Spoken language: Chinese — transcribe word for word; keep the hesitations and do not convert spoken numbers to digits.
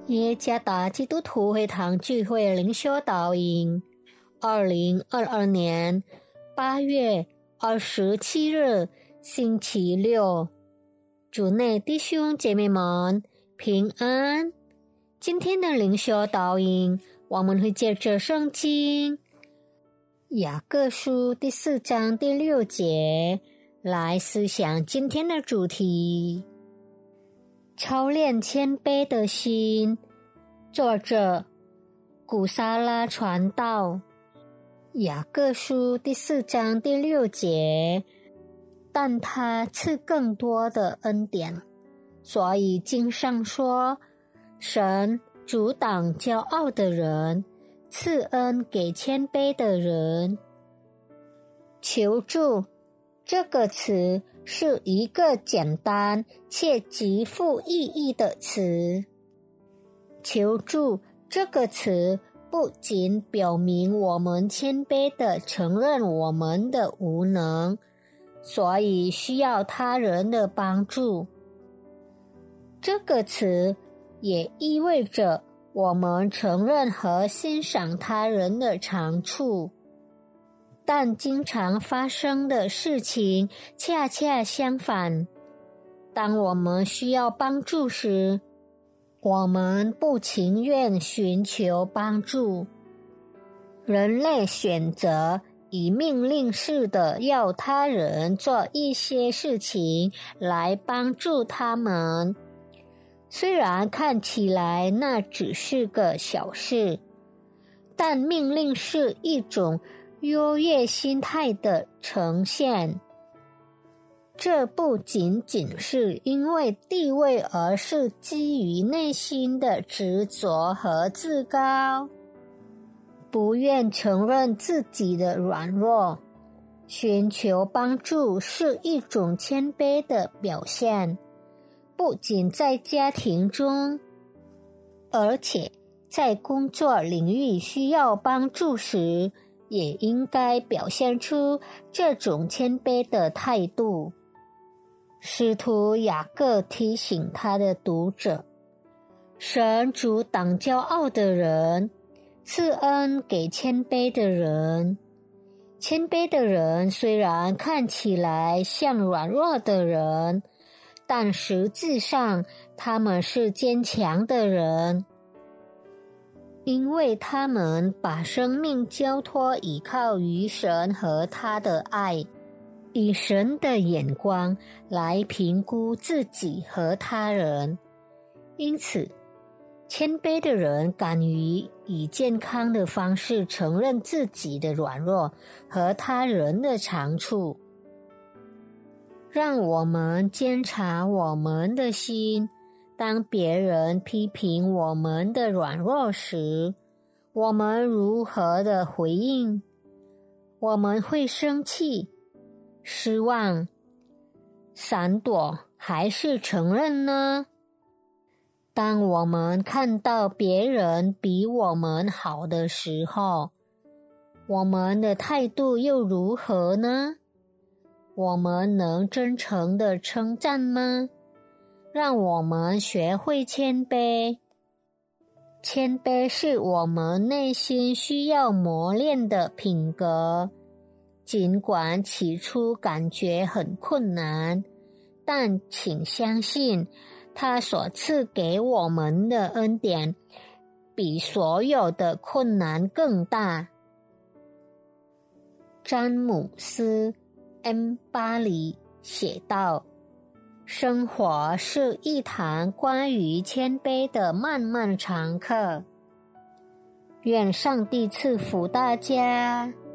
耶加达基督徒会堂聚会灵修导引，二零二二年八月二十七日星期六，主内弟兄姐妹们平安。今天的灵修导引，我们会借着圣经雅各书第四章第六节来思想今天的主题。操练谦卑的心，作者古沙拉传道。雅各书第四章第六节，但他赐更多的恩典，所以经上说，神阻挡骄傲的人，赐恩给谦卑的人。求助这个词是一个简单且极富意义的词。求助这个词不仅表明我们谦卑地承认我们的无能，所以需要他人的帮助。这个词也意味着我们承认和欣赏他人的长处。但经常发生的事情恰恰相反，当我们需要帮助时，我们不情愿寻求帮助。人类选择以命令式的要他人做一些事情来帮助他们，虽然看起来那只是个小事，但命令是一种优越心态的呈现。这不仅仅是因为地位，而是基于内心的执着和自高，不愿承认自己的软弱。寻求帮助是一种谦卑的表现，不仅在家庭中，而且在工作领域需要帮助时，也应该表现出这种谦卑的态度。使徒雅各提醒他的读者，神阻挡骄傲的人，赐恩给谦卑的人。谦卑的人虽然看起来像软弱的人，但实际上他们是坚强的人，因为他们把生命交托依靠于神和他的爱，以神的眼光来评估自己和他人。因此，谦卑的人敢于以健康的方式承认自己的软弱和他人的长处。让我们检查我们的心，当别人批评我们的软弱时，我们如何的回应？我们会生气、失望、闪躲，还是承认呢？当我们看到别人比我们好的时候，我们的态度又如何呢？我们能真诚地称赞吗？让我们学会谦卑。谦卑是我们内心需要磨练的品格，尽管起初感觉很困难，但请相信，他所赐给我们的恩典比所有的困难更大。詹姆斯 M 巴里写道，生活是一堂关于谦卑的漫漫长课。愿上帝赐福大家。